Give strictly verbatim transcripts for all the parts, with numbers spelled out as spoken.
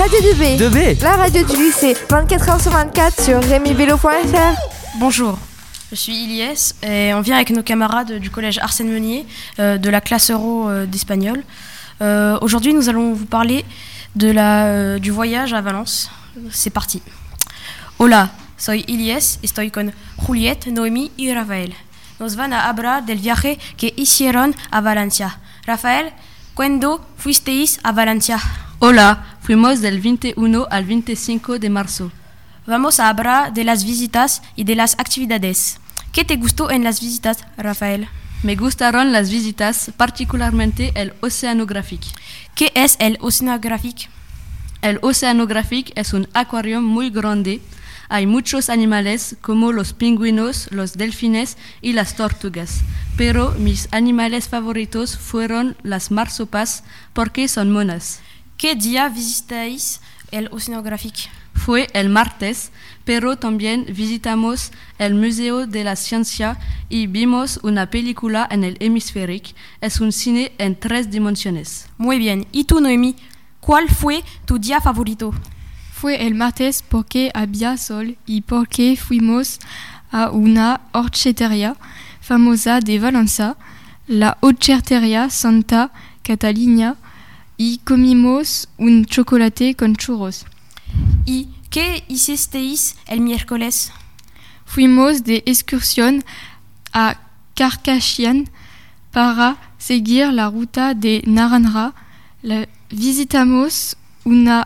Radio deux B. deux B. La radio du lycée, vingt-quatre heures sur vingt-quatre sur rémi vélo point f r. Bonjour, je suis Ilyes et on vient avec nos camarades du collège Arsène Meunier euh, de la classe Euro euh, d'espagnol. Euh, aujourd'hui, nous allons vous parler de la, euh, du voyage à Valence. C'est parti. Hola, soy Ilyes, estoy con Juliette, Noemi y Rafael. Nos van a hablar del viaje que hicieron a Valencia. Rafael, ¿cuándo fuisteis a Valencia? Hola, fuimos del veintiuno al veinticinco de marzo. Vamos a hablar de las visitas y de las actividades. ¿Qué te gustó en las visitas, Rafael? Me gustaron las visitas, particularmente el Oceanographique. ¿Qué es el Oceanographique? El Oceanographique es un acuario muy grande. Hay muchos animales como los pingüinos, los delfines y las tortugas. Pero mis animales favoritos fueron las marsopas porque son monas. ¿Qué día visitáis el Oceanographique? Fue el martes, pero también visitamos el Museo de la Ciencia y vimos una película en el Hemisphérique. Es un cine en tres dimensiones. Muy bien. ¿Y tú, Noemi? ¿Cuál fue tu día favorito? Fue el martes porque había sol y porque fuimos a una horchatería famosa de Valencia, la Horchatería Santa Catalina, y comimos un chocolate con churros. ¿Y qué hicisteis el miércoles? Fuimos de excursión a Carcassonne para seguir la ruta de Naranja. La, visitamos una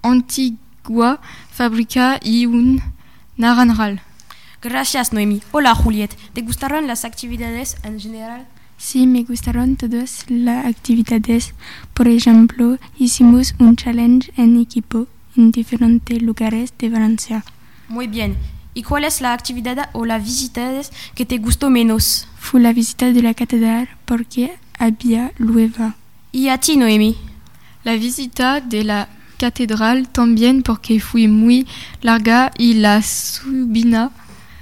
antigua fábrica y un naranjal. Gracias, Noemi. Hola, Juliette. ¿Te gustaron las actividades en general? Sí, me gustaron todas las actividades. Por ejemplo, hicimos un challenge en equipo en diferentes lugares de Valencia. Muy bien. ¿Y cuál es la actividad o la visita que te gustó menos? Fue la visita de la catedral porque había lluvia. ¿Y a ti, Noemi? La visita de la catedral también porque fue muy larga y la subida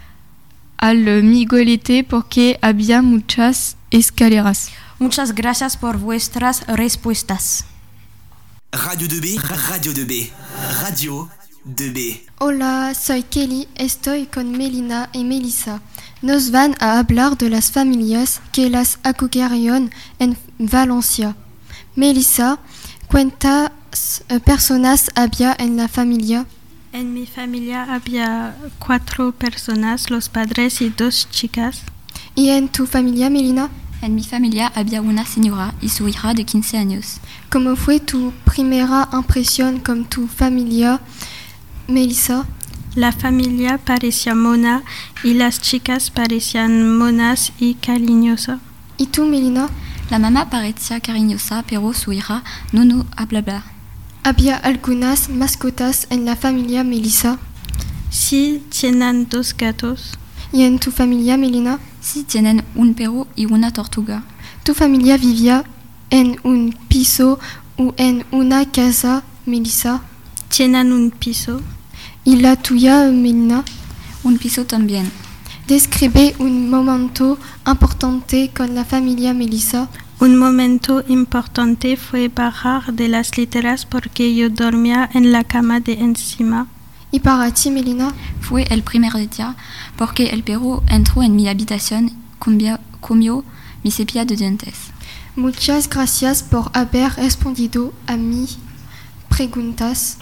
al Miguelete porque había muchas escaleras. Muchas gracias por vuestras respuestas. Radio deux B, Radio deux B, Radio deux B. Hola, soy Kelly, estoy con Melina y Melissa. Nos van a hablar de las familias que las acogieron en Valencia. Melissa, ¿cuántas personas había en la familia? En mi familia había cuatro personas, los padres y dos chicas. ¿Y en tu familia, Melina? En mi familia había una señora y su hija de quince años. ¿Cómo fue tu primera impresión con tu familia, Melissa? La familia parecía mona y las chicas parecían monas y cariñosas. ¿Y tú, Melina? La mamá parecía cariñosa, pero su hija no no hablaba. ¿Había algunas mascotas en la familia, Melissa? Sí, tienen dos gatos. ¿Y en tu familia, Melina? Sí, tienen un perro y una tortuga. ¿Tu familia vivía en un piso o en una casa, Melissa? Tienen un piso. ¿Y la tuya, Melina? Un piso también. Describe un momento importante con la familia, Melissa. Un momento importante fue bajar de las literas porque yo dormía en la cama de encima. ¿Y para ti, Melina? Fue el primer día porque el perro entró en mi habitación, comió, comió mi cepilla de dientes. Muchas gracias por haber respondido a mis preguntas.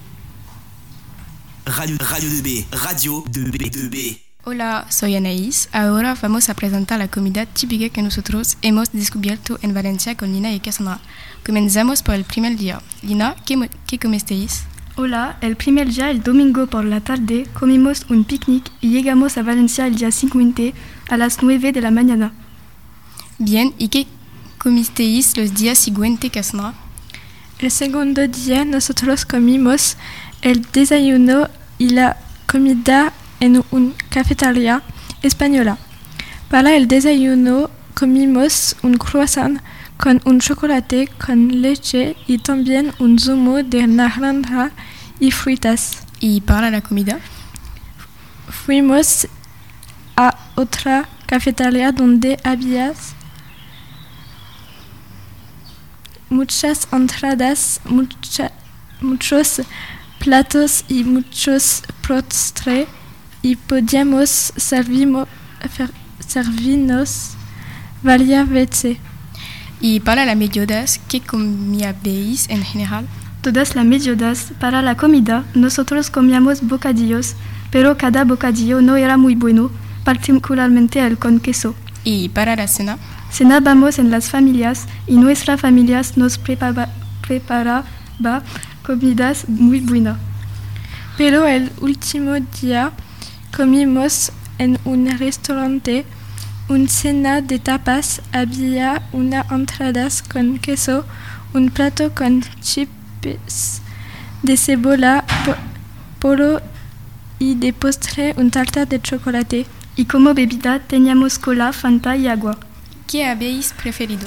Radio, Radio deux B, Radio deux B, deux B. Hola, soy Anaís. Ahora vamos a presentar la comida típica que nosotros hemos descubierto en Valencia con Lina y Cassandra. Comenzamos por el primer día. Lina, ¿qué, qué comisteis? Hola, el primer día, el domingo por la tarde, comimos un picnic y llegamos a Valencia el día siguiente a las nueve de la mañana. Bien, ¿y qué comisteis los días siguientes, Cassandra? El segundo día nosotros comimos el desayuno y la comida en una cafetería española. Para el desayuno comimos un croissant con un chocolate con leche y también un zumo de naranja y frutas. ¿Y para la comida? Fuimos a otra cafetería donde había muchas entradas, mucha, muchos platos y muchos postres y podíamos servimo, servirnos varias veces. Y para las mediodías, ¿qué comíais en general? Todas las mediodías, para la comida, nosotros comíamos bocadillos, pero cada bocadillo no era muy bueno, particularmente el con queso. ¿Y para la cena? Cenábamos en las familias y nuestras familias nos preparaba, preparaba comidas muy buenas. Pero el último día comimos en un restaurante una cena de tapas. Había una entrada con queso, un plato con chips de cebolla, po poro y de postre un tarta de chocolate. Y como bebida teníamos cola, Fanta y agua. ¿Qué habéis preferido?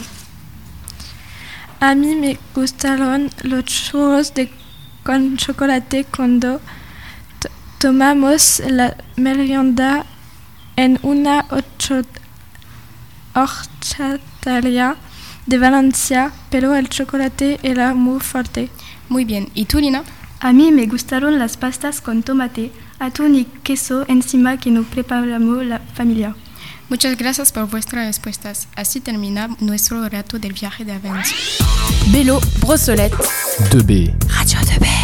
A mí me gustaron los churros de, con chocolate cuando tomamos la merienda en una horchataria de Valencia, pero el chocolate era muy fuerte. Muy bien. ¿Y tú, Lina? A mí me gustaron las pastas con tomate, atún y queso encima que nos preparamos la familia. Muchas gracias por vuestras respuestas. Así termina nuestro rato del viaje de Avance. Bélo, Brossolette. deux B. Radio deux B.